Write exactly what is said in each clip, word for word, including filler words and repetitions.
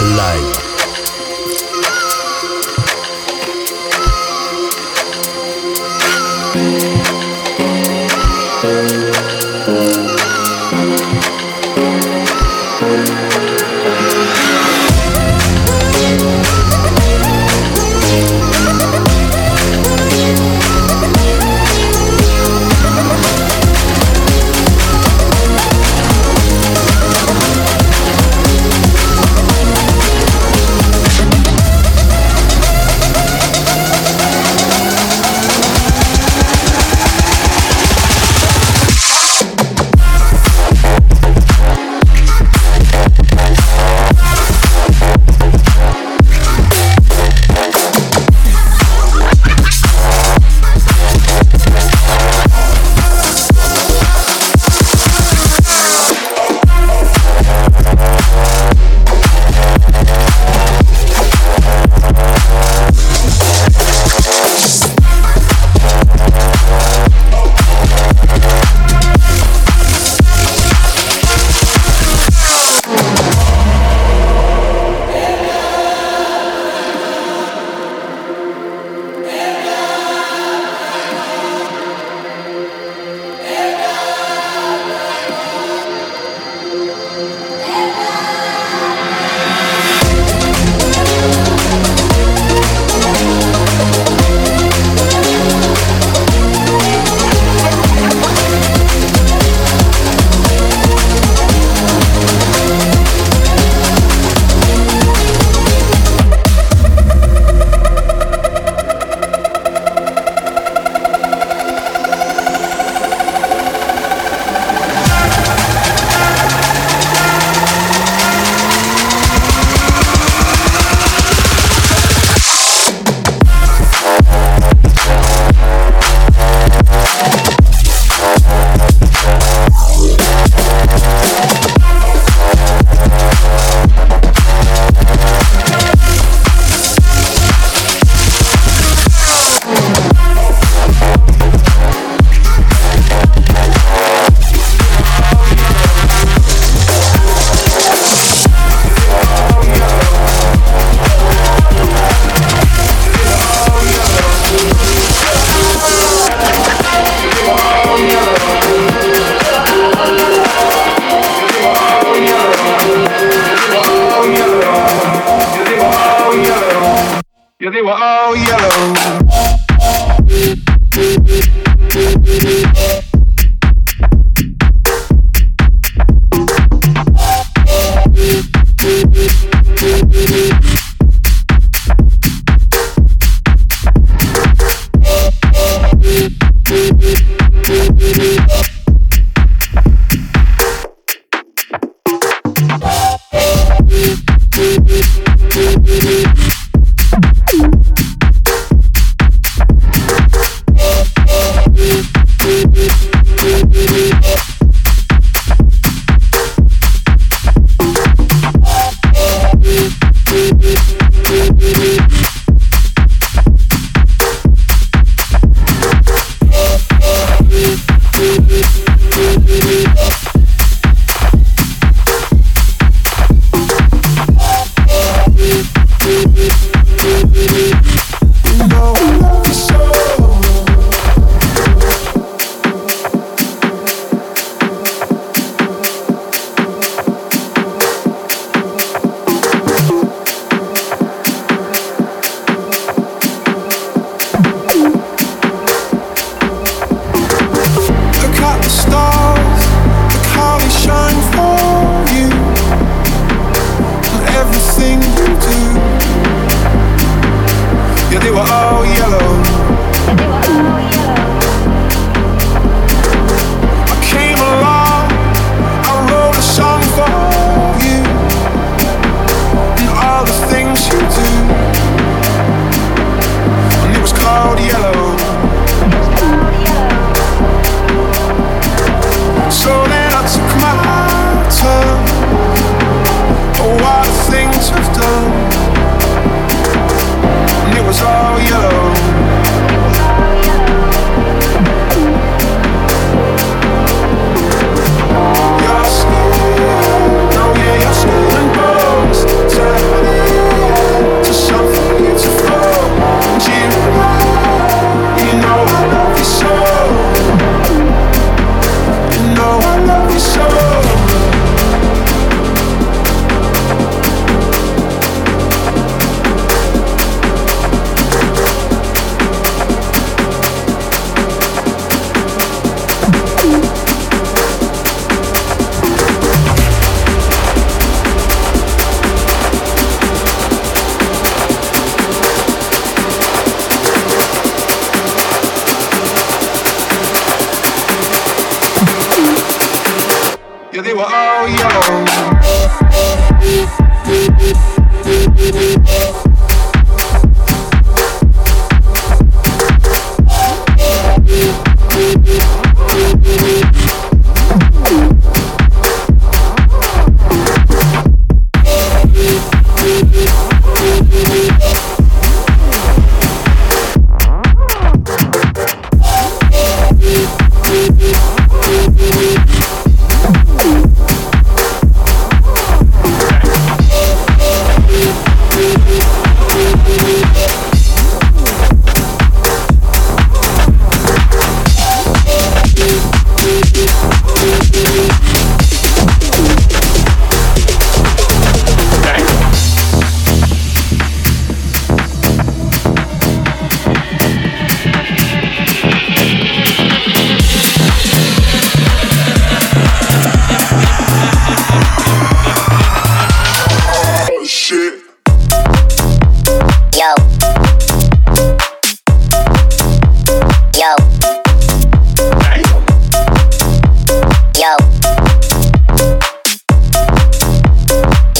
Live.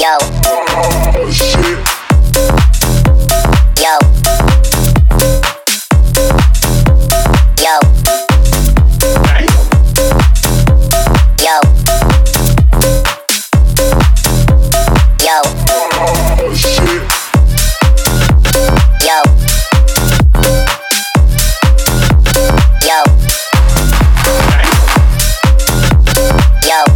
Yo. Oh, shit. Yo. Yo. Yo. Yo. Oh, shit. Yo. Yo. Yo.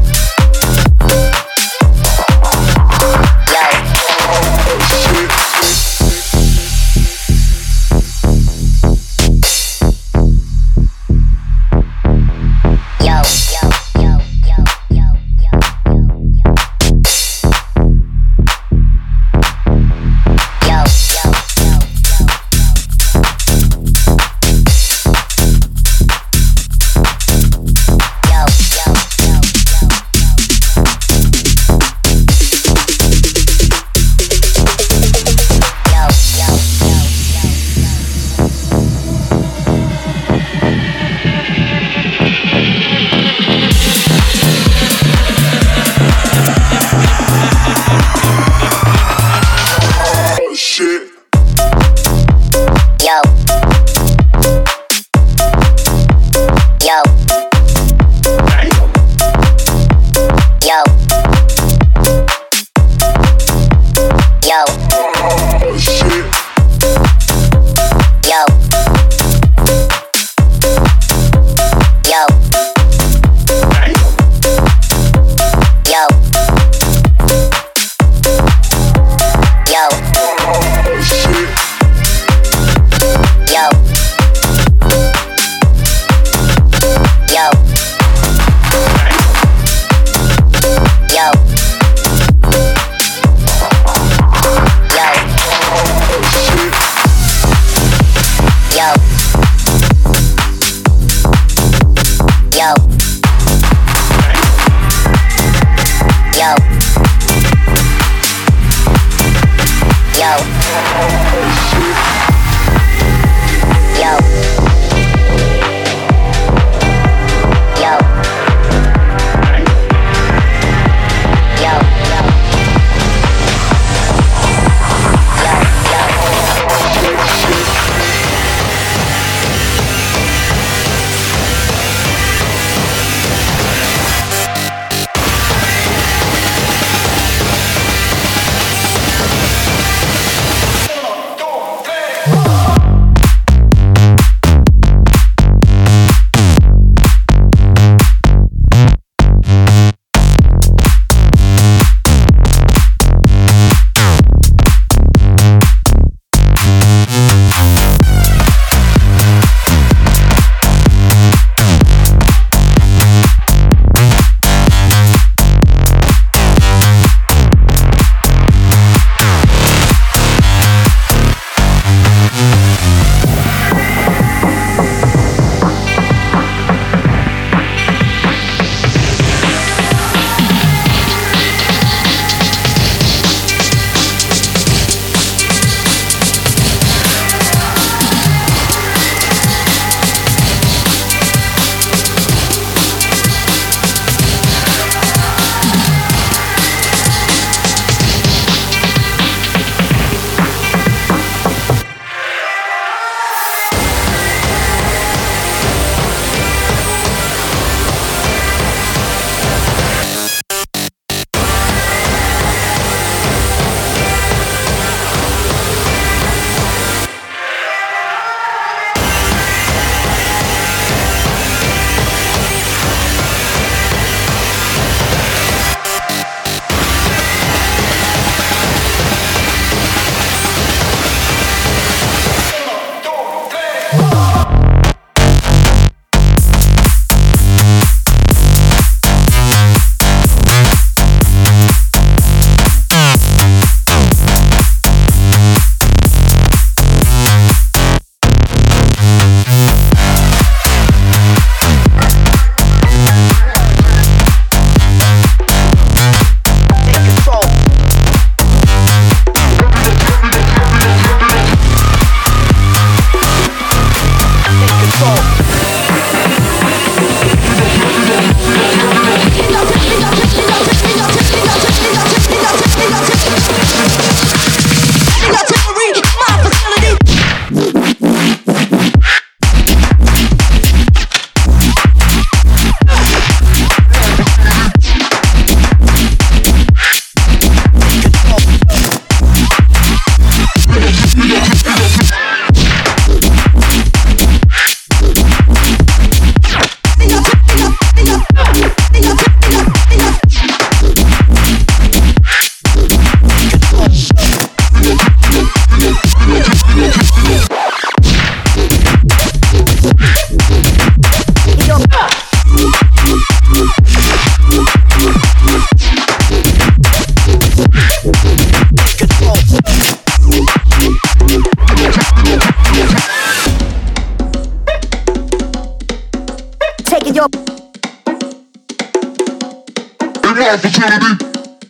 opportunity.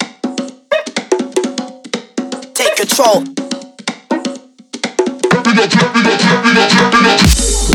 Take control. We gon' check, we gon' check, we gon' check, we gon'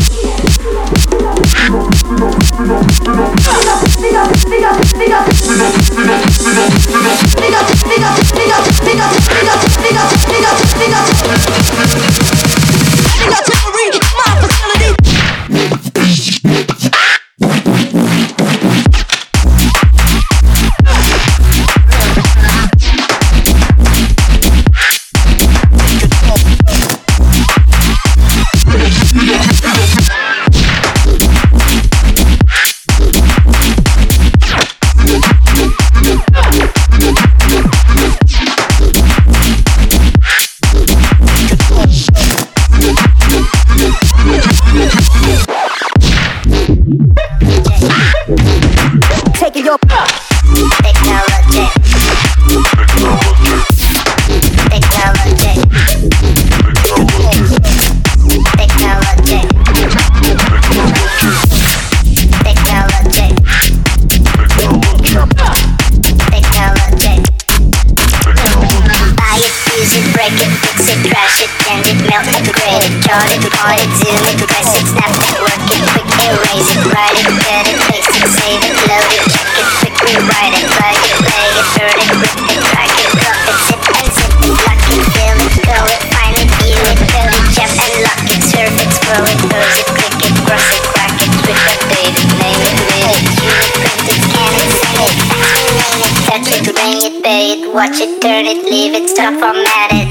Taking your Technology. Technology. Technology. Technology. Technology. Buy it, use it, break it, fix it, crash it, bend it, melt it, grade it, chart it, point it, zoom it, press it, snap it, work it, quick erase it, write it, cut it, paste it, save it, load it, check it, quick rewrite it, plug it, play it, burn it, rip it, drag it, drop it, zip and zip it, lock it, fill it, call it, find it, view it, code it, jump and lock it, surf it, scroll it, pose it, click it, cross it, crack it, switch, update it, name it, read it, tune it, print it, scan it, send it, fax it, name it, touch it, ring it, pay it, watch it, turn it, leave it, stop, format it.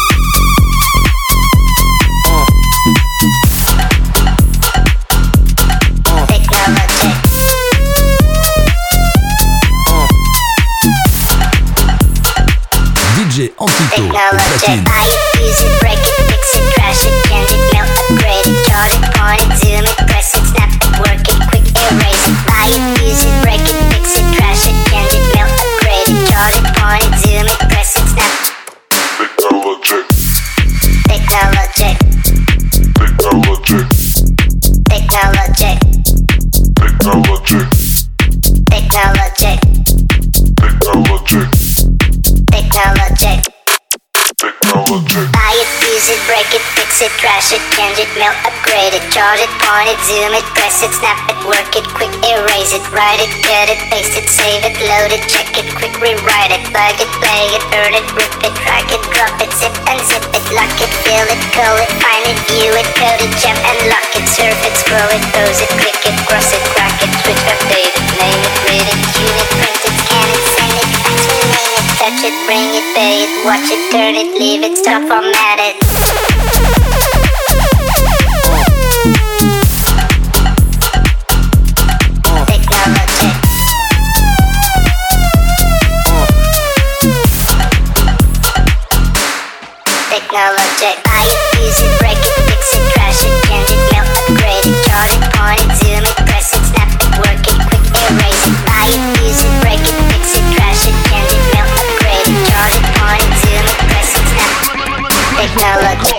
D J Antito, Technology. platine. Buy it, use it, break it, fix it, crash it, change it, melt, upgrade it, chart it, point it, zoom it, press it, snap it, work it, quick erase it. Buy it, use it, break it, fix it, crash it, change it, melt, upgrade it, chart it, point it, zoom it, press it, snap. Technology. Technology. Technology. Technology. Technology. Technology. Technology. Technology. Technology. Buy it, use it, break it, fix it, trash it, change it, melt, upgrade it, chart it, point it, zoom it, press it, snap it, work it, quick erase it, write it, cut it, paste it, save it, load it, check it, quick rewrite it, plug it, play it, burn it, rip it, drag it, drop it, zip and zip it, lock it, fill it, call it, find it, view it, code it, jump and lock it, surf it, scroll it, pose it, click it, cross it, crack it, switch, update it, name it, read it, tune it, print it, scan it, send it, fax it, name it, touch it, bring it, pay it, watch it, turn it, leave it, stop, format it. Technology. Technology. Buy it, use it, break it, fix it, crash it, change it, melt, upgrade it, chart it, point it, zoom it, press it, snap it, work it, quick erase it. Buy it, use it, break it, fix it, crash it, change it, melt, upgrade it, chart it, point it, zoom it, press it, snap. Technology.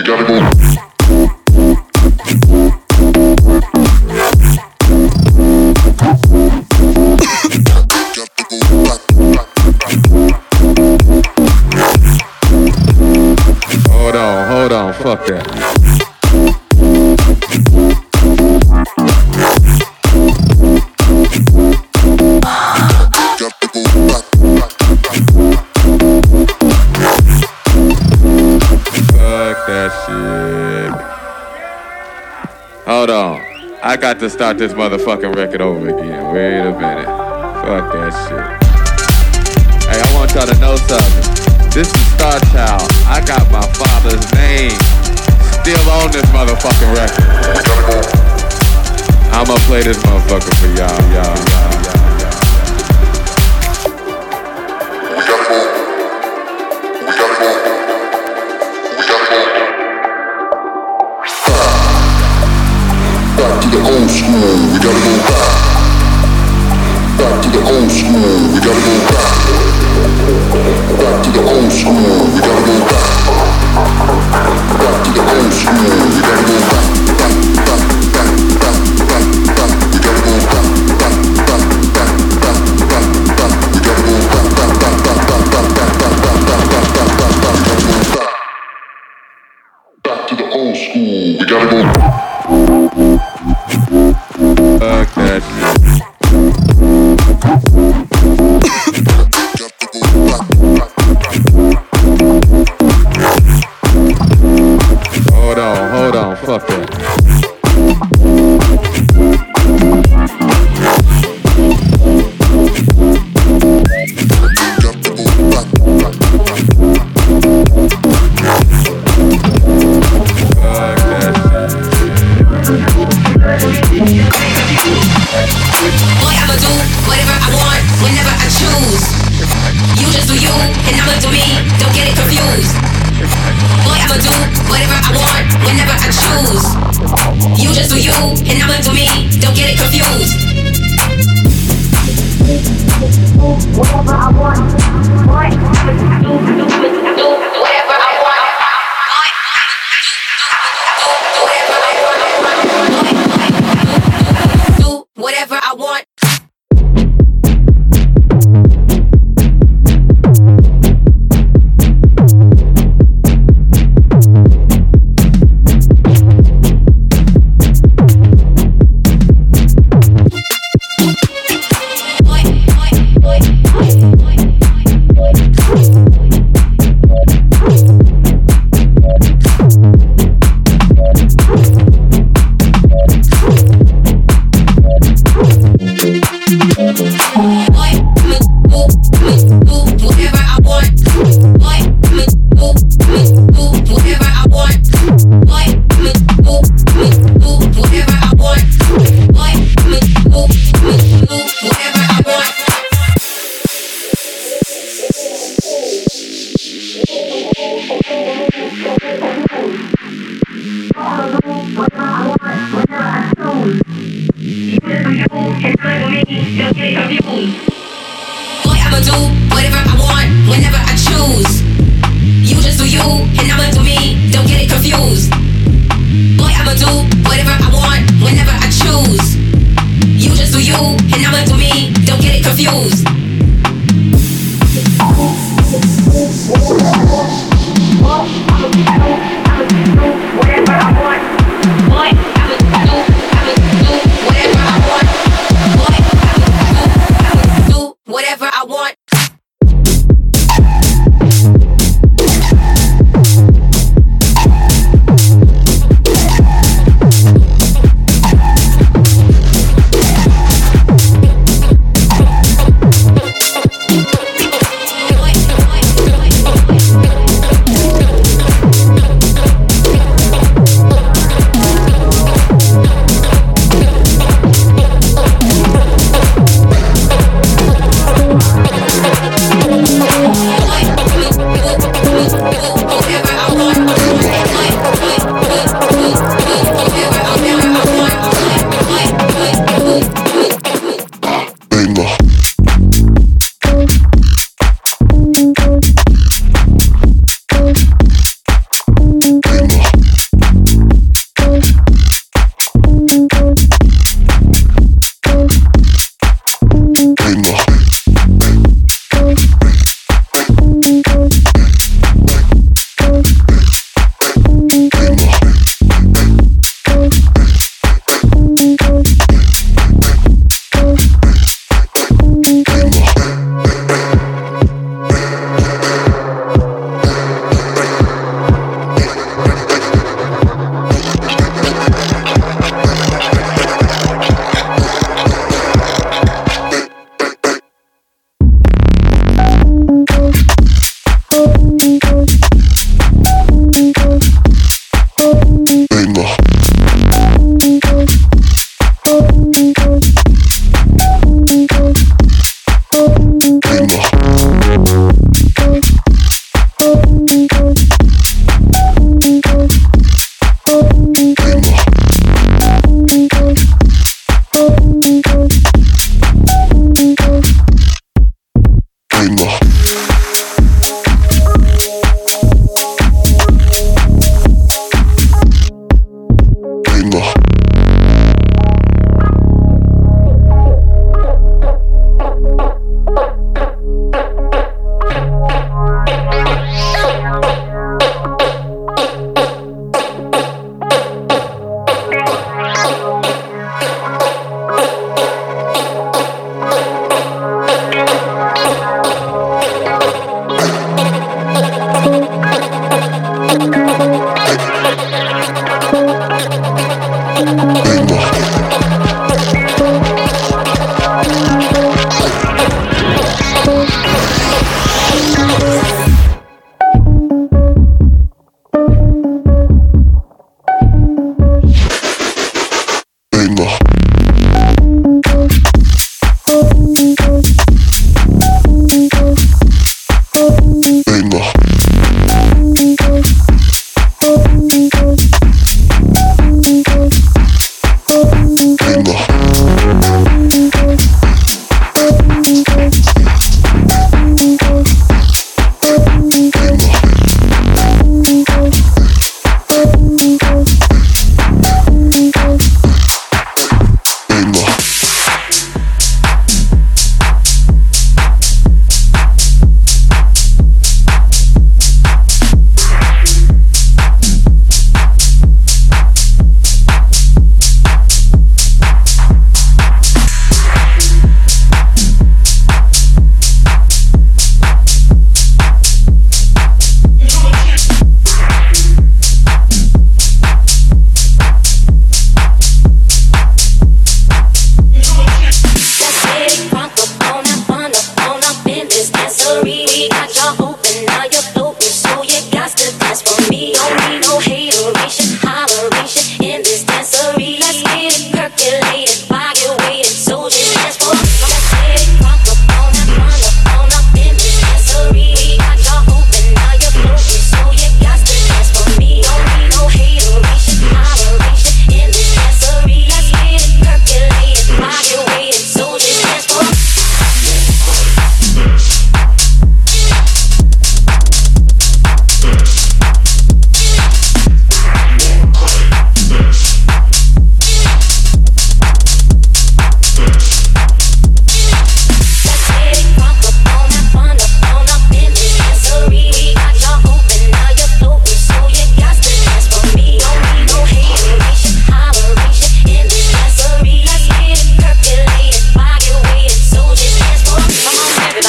Hold on, hold on, fuck that. Fuck that shit. Hold on. I got to start this motherfucking record over again. Wait a minute. Fuck that shit. Hey, I want y'all to know something. This is Star Child. I got my father's name still on this motherfucking record. I'ma play this motherfucker for y'all, y'all, y'all, y'all. Back to the old school, we gotta go back. Back to the old school, we gotta go back. Back to the old school, we gotta go back. Back to the old school, we gotta go back. Back, back, back, back, back, back. We gotta go back. Back, back, back, back, back, back. We gotta go back. Back, back, back, back, back, back, back, back, back, back, back, back. We gotta go back. Back to the old school, we gotta go back. Fuck that shit. Hold on, hold on, fuck that.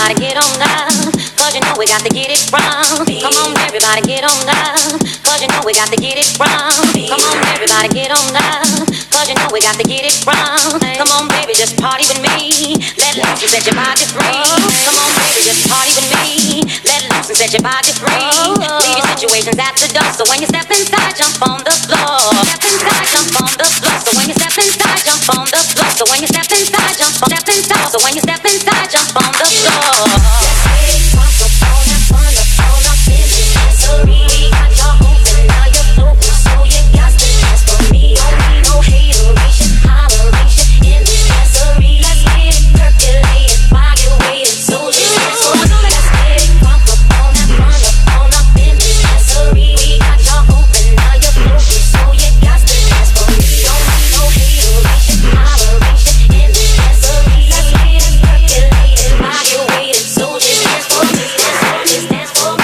everybody get on down, cause you know we got to get it wrong. Come on, everybody get on down, cause you know we got to get it wrong. Come on, everybody get on down, cause you know we got to get it wrong. Come on, baby, just party with me. Let loose and set your body free. Come on, baby, just party with me. Let loose and set your body free. Leave your situations at the door, so when you step inside, jump on the floor. Step inside, jump on the floor. So when you step inside, jump on the floor. So when you step inside, jump on, step inside. So when you step inside, jump on the floor. Let's get it crunk up on that fun up on up in the dancery. We got your open, now you're floating, so you got to dance for me. Don't need no hateration, holleration in this dancery. Let's get it percolated, body weighted, so just dance for me. Let's get it crunk up on that fun up on up in the dancery. We got your open, now you're floating, so you got to dance for me. Don't need no hateration, holleration in this dancery. Let's get it percolated, body weighted, so just dance for me. Dance for me, dance for me.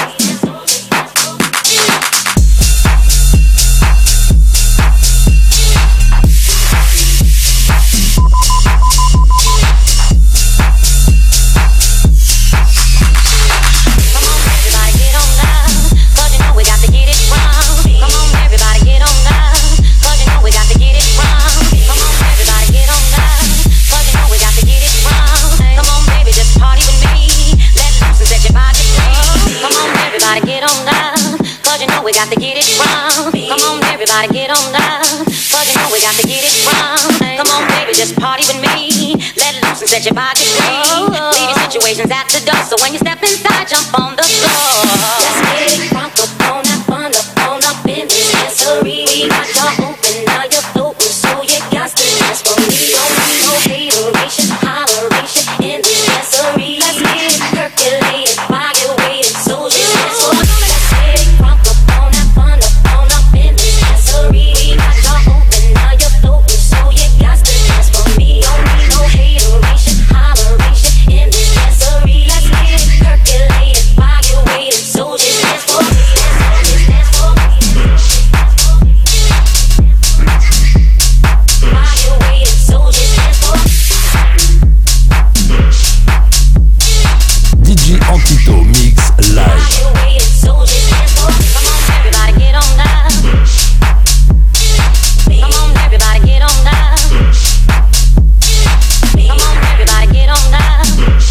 We got to get it wrong. Come on, everybody, get on down, cause you know we got to get it wrong. Come on, baby, just party with me. Let loose and set your body free. Leave your situations at the door, so when you step inside, jump on the floor. Let's get it crunk up on that fun up on up in this dancery. We got your open, now you're floating, so you got to dance for me. Don't need no hateration, holleration in this dancery. Let's get it percolated, body weighted, so just dance for me. Let's get it crunk up on that fun up on up in this dancery. We got your open, now you're floating, so you got to dance for me. Don't need no hateration, holleration in this dancery. Let's get it percolated, body weighted, so just dance for me. Dance for me, dance for me. Body weighted, so just dance for me. D J Antito Mix Live. Body weighted, so just dance for me. Come on, everybody, get on down. Come on, everybody, get on down. Come on, everybody, get on down.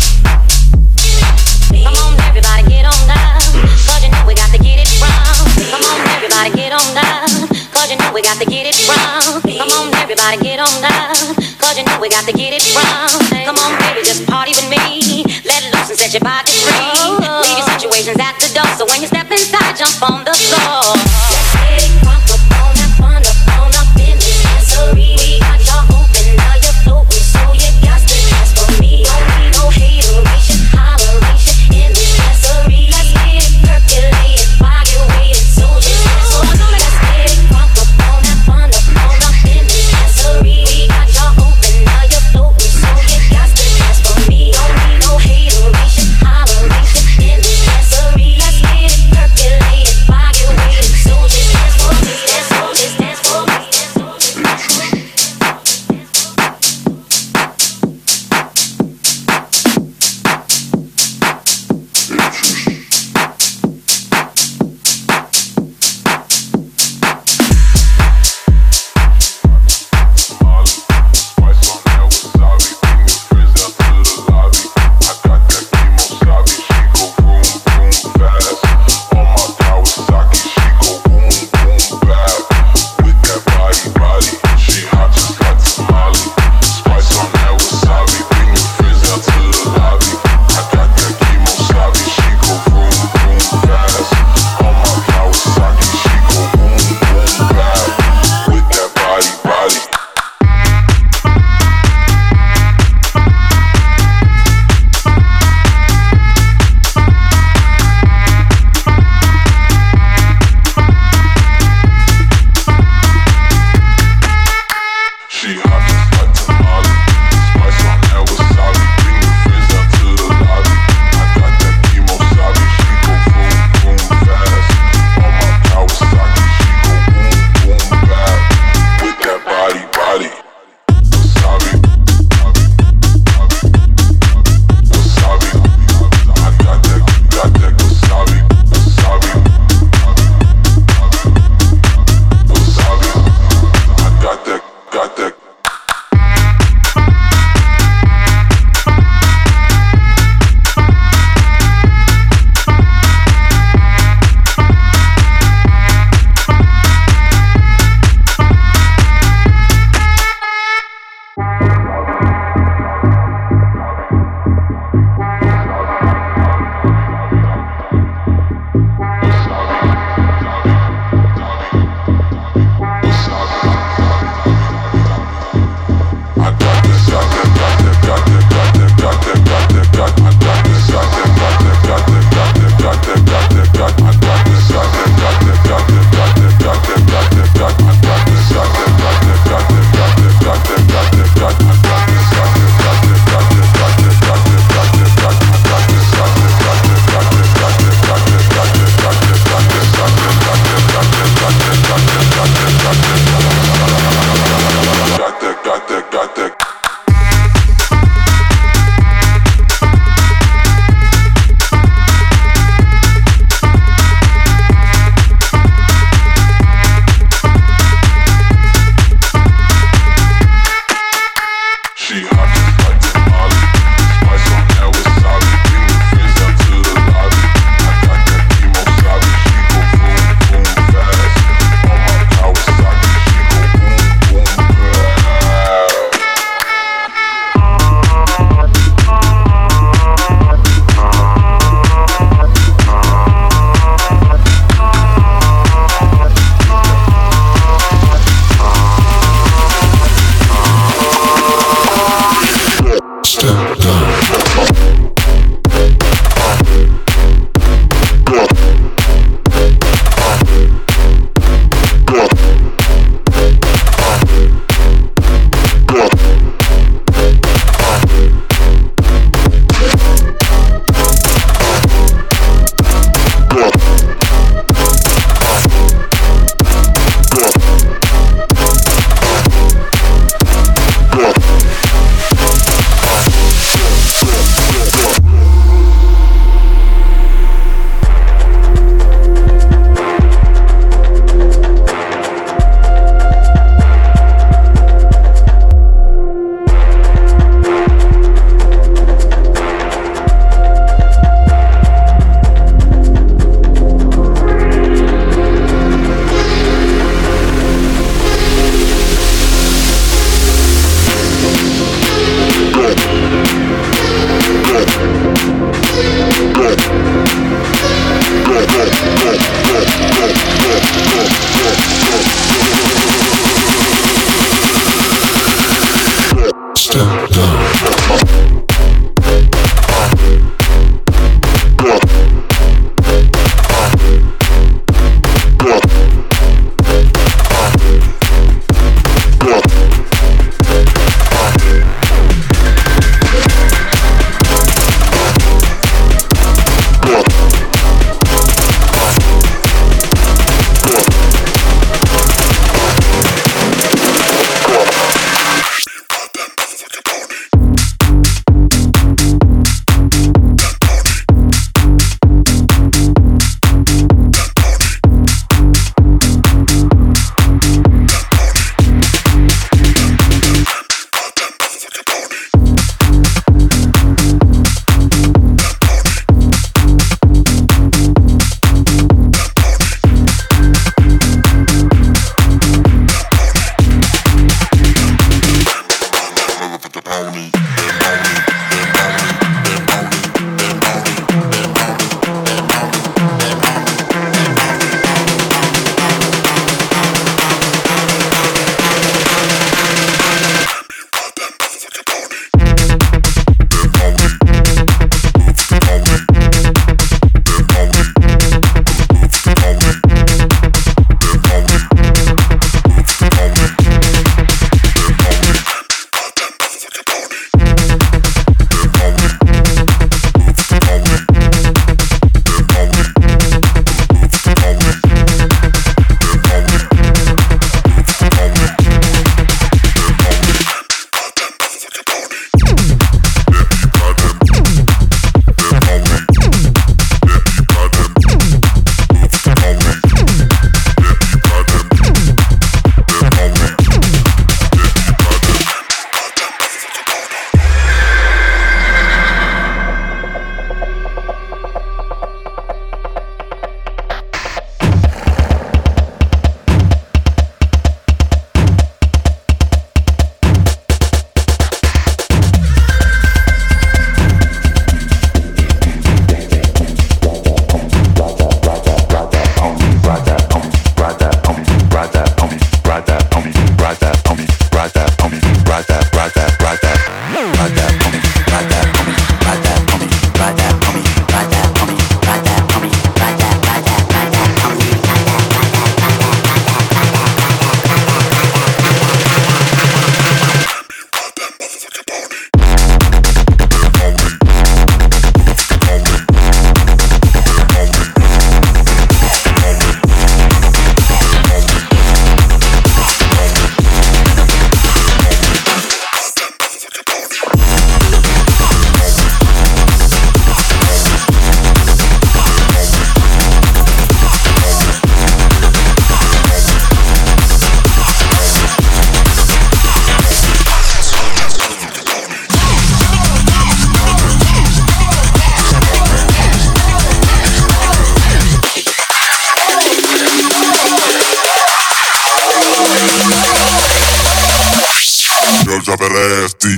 Come on, everybody, get on down, cause you know we got to get it wrong. Come on, everybody, get on down, cause you know we got to get it wrong. Come on, everybody, get on down, cause you know we got to get it wrong. Come on, baby, just party with me. Let loose and set your body free. Leave your situations at the door, so when you step inside, jump on the floor. Let's get it crunk up on that fun up on up in this dancery. We got your open, now you're floating, so you got to dance for me. Don't need no hateration, holleration in this dancery. Let's get it percolated, body weighted, so just dance for me. Let's get it crunk up on that fun up on up in this dancery. We got your open, now you're floating, so you got to dance for me. Don't need no hateration, holleration in this dancery. Let's get it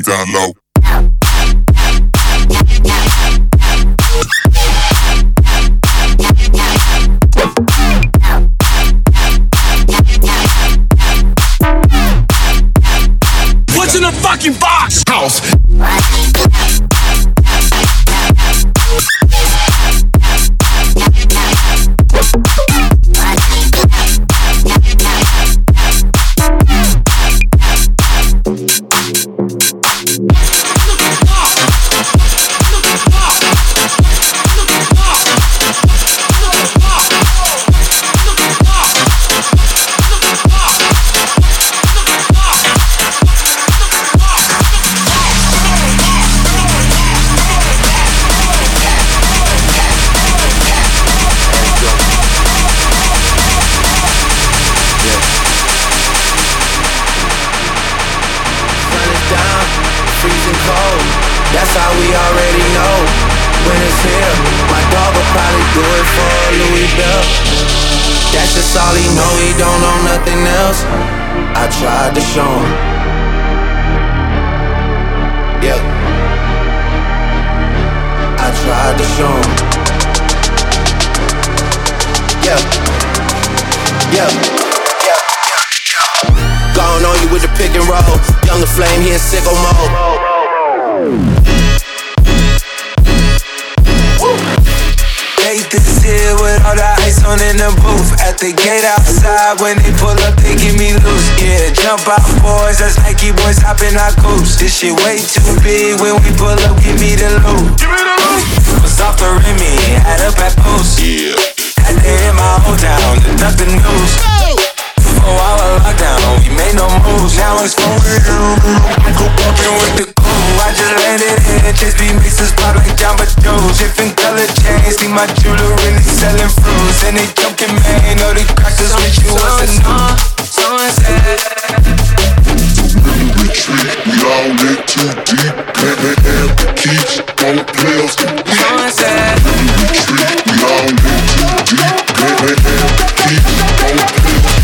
down low. What's in the fucking box? House. That's how we already know when it's here. My dog will probably do it for Louis Bell. That's just all he know, he don't know nothing else. I tried to show him. Yeah, I tried to show him. Yeah, yeah, yeah, yeah. Gone on you with the pick and roll. Younger Flame, he in sicko mode. This here with all the ice on in the booth. At the gate outside, when they pull up, they give me loose. Yeah, jump out, boys, that's Nike boys hopping our coops. This shit way too big. When we pull up, give me the loot. Give me the loot. Was off the Remy, had up at post. Yeah. Had to hit my whole town to duck the news. Four hour lockdown, we made no moves. Now it's going walking with the crew. I just landed in, just be mixes pop like Jamba Joe's. Different color chains, see my jeweler really selling fruits. And they joking, man, know the crackers with you was a new. Someone said retreat, we all in too deep. Can't let have the keys, don't play us. Someone said retreat, we all in too deep. Can't let have the keys, don't play us.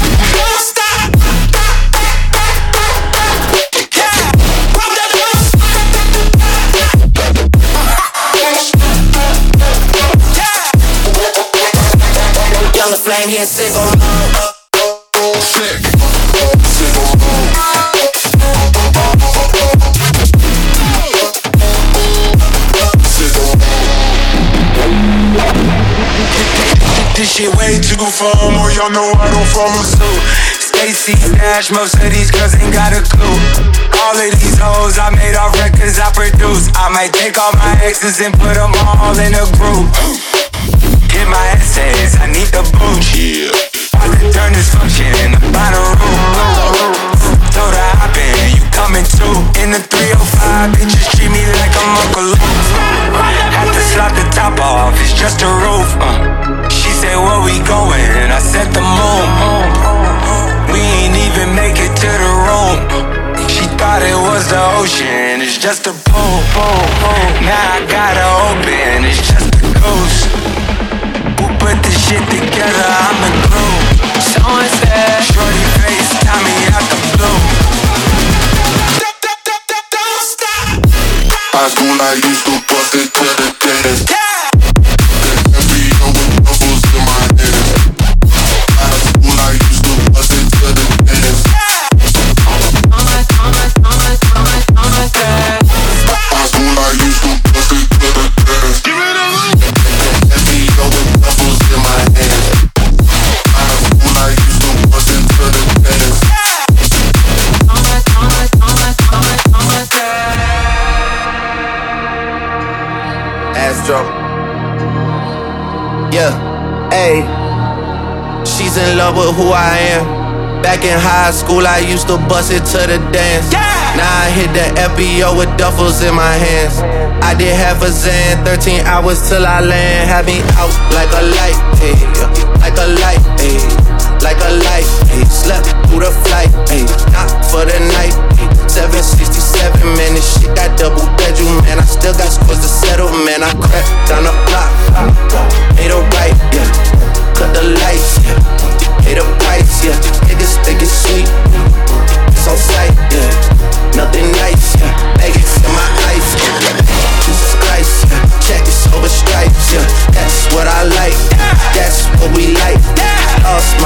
Younger Flame, he in sicko mode. Sick. this shit way too formal, y'all know I don't follow suit. Stacy Dash, most of these girls ain't got a clue. All of these hoes I made off records I produce. I might take all my exes and put them all in a group. Hit my essays, I need the boot. Yeah. About to turn this function in the bottom room. Told her hop in, you coming too. In the three oh five, bitches treat me like I'm Uncle Luke. Had to slot the top off, it's just a roof. uh. She said, where we going? I said the moon. We ain't even make it to the room. She thought it was the ocean, it's just a pool. Now I gotta open, it's just a ghost. Who put this shit together? I'm the glue. Someone said, shorty face, Tommy out the blue. High school I used to bust it to the dance. Yeah. F B O with bubbles in my hands. High school I used to bust it to the dance. High school I used to bust it to the dance. F B O with bubbles in my hands. High school I used to bust it to the dance. Astro. Yeah, ayy. She's in love with who I am. Back in high school, I used to bust it to the dance. Yeah. Now I hit the F B O with duffels in my hands. I did half a Zan, thirteen hours till I land. Had me out like a light, ayy, like a light, ayy, like a light, ayy. Slept through the flight, ayy, not for the night, ayy. seven sixty-seven, man, this shit got double bedroom, man. I still got scores to settle, man. I crept down the block, made a right, yeah. Cut the lights, yeah. Pay the price, yeah. Niggas think it's sweet, it's on sight, yeah. Nothing nice, yeah. Make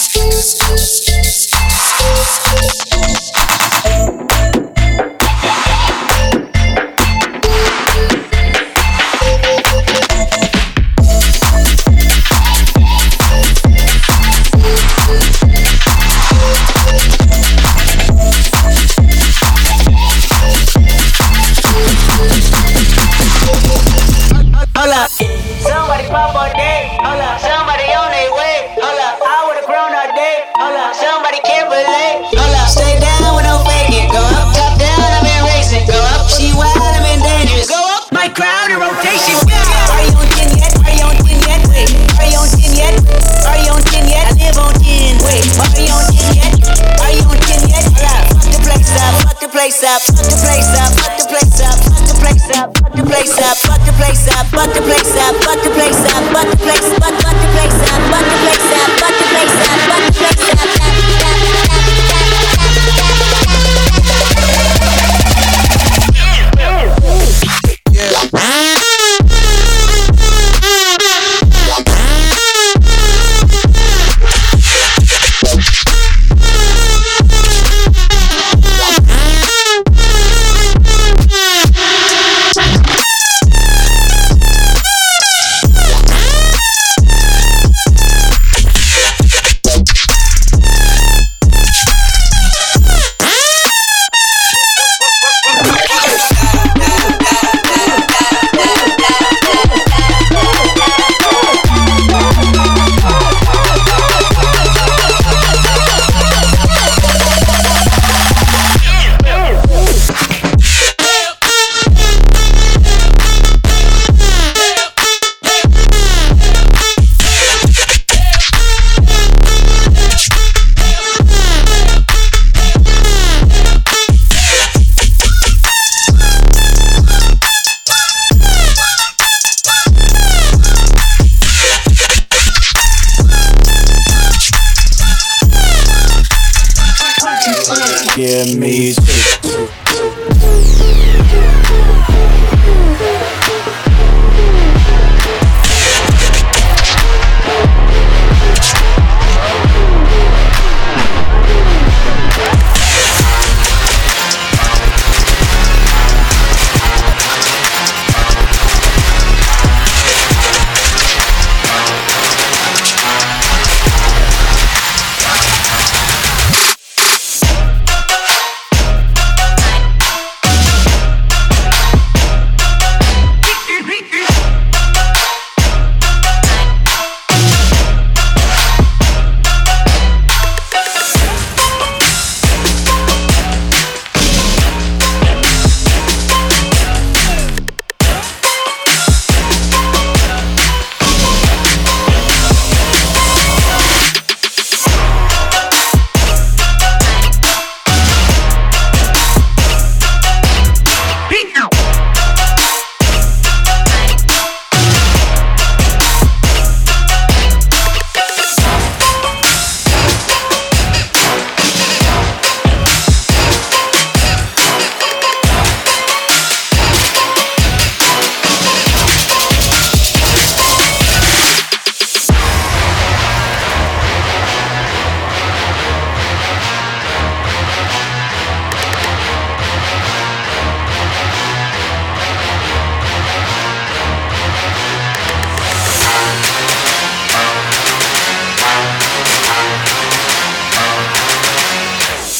Give me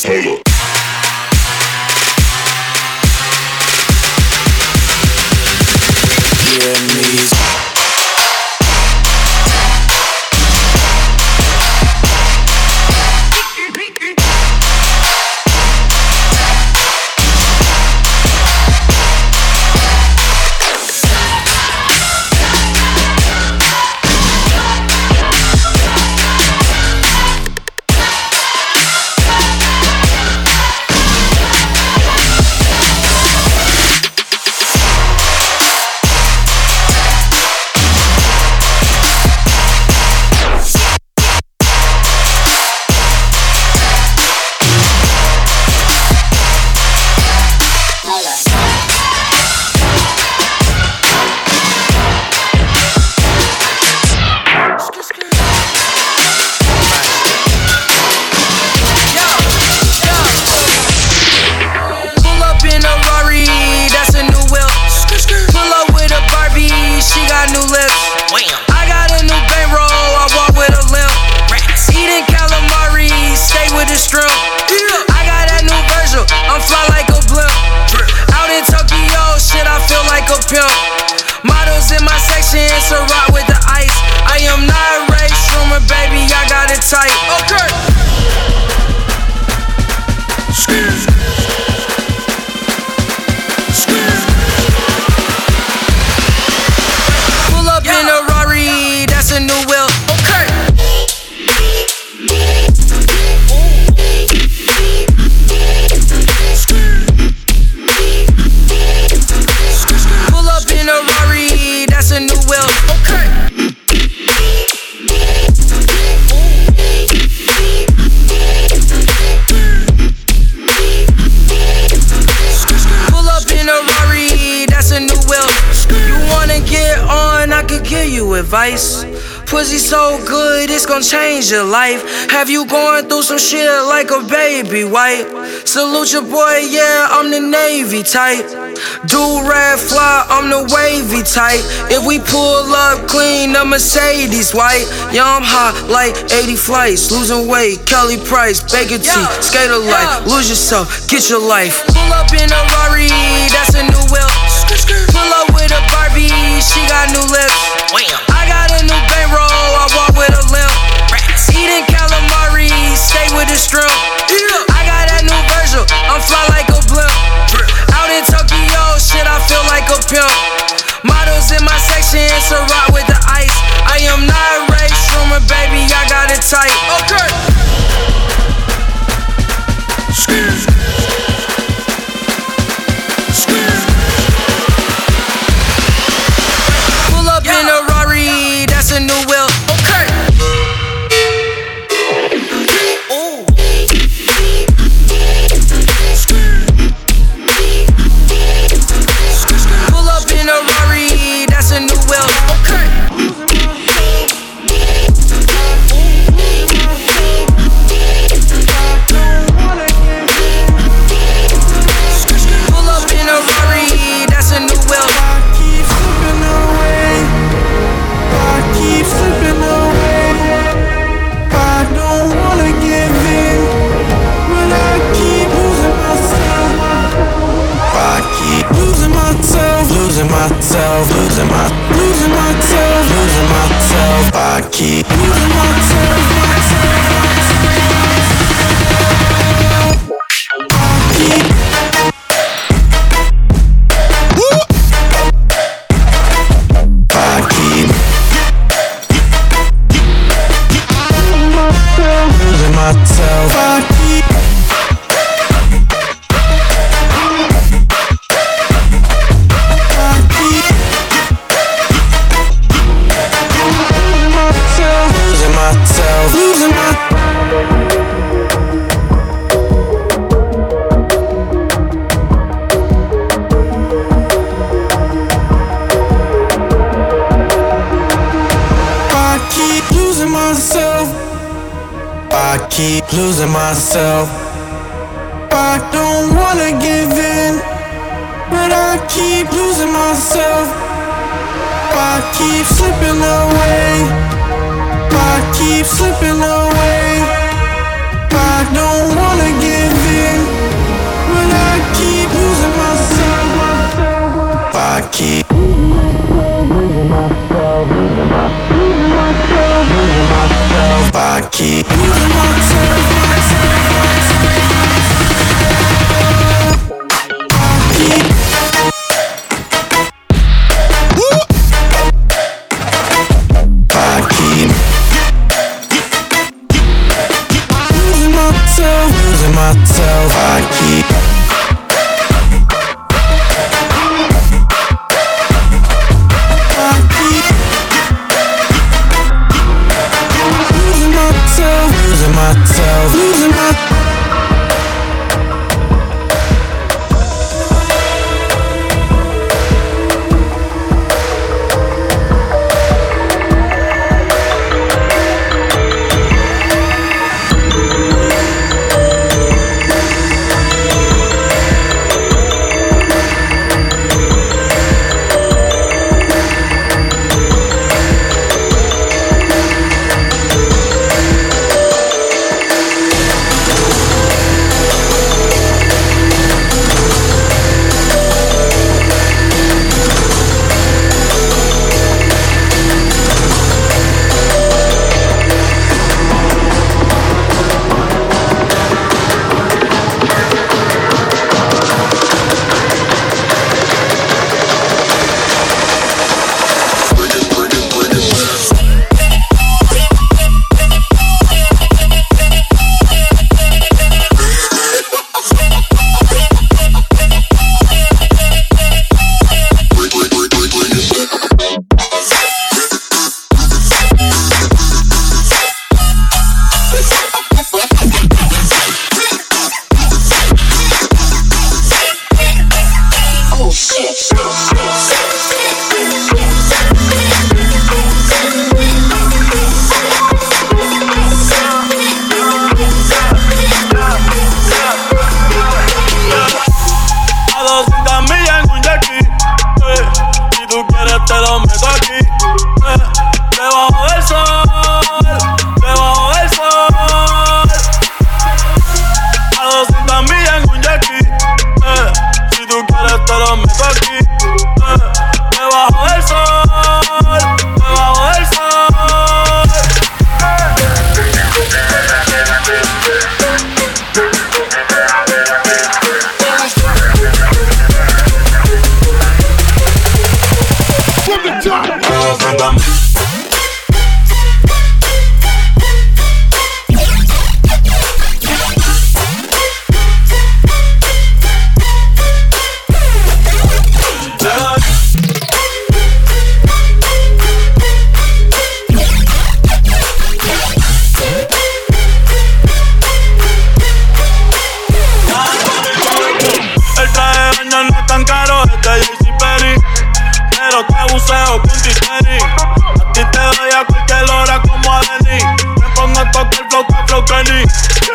Advice. Pussy so good, it's gon' change your life. Have you going through some shit like a baby white? Salute your boy, yeah, I'm the Navy type. Do-rag fly, I'm the wavy type. If we pull up clean, the Mercedes white. Yeah, I'm hot like eighty flights. Losing weight, Kelly Price, Baker T, skater life. Lose yourself, get your life. Pull up in a Rari, that's a new whip. Pull up with a Barbie, she got new lips. I got a new bankroll, I walk with a limp. Eating calamari, stay with the shrimp. I got that new Virgil, I'm fly like a blimp. Out in Tokyo, shit, I feel like a pimp. Models in my section, it's a rock with the ice. I am not Ray Schumer, baby, I got it tight. Okay. Pull up in a Rari, that's a new wheel. Okay. Ooh. Pull up in a Rari, that's a new wheel. Okay. Pull up in a Rari, that's a new wheel. Keep slipping away. I don't wanna give in, but I keep losing myself. I keep losing myself, losing myself, losing my, losing myself, losing myself. I keep losing myself, myself, myself. I keep. I keep. Losing myself. I keep. I keep. Losing myself. Losing myself. I keep losing myself. I keep losing myself. I don't wanna give in, but I keep losing myself. I keep slipping away. I keep slipping away. I don't wanna give keep I keep losing myself. I keep losing myself, losing myself. I keep myself, losing my A ti te doy a cualquier hora como a Denny. Me pongo a tocar flow, que flow Kenny.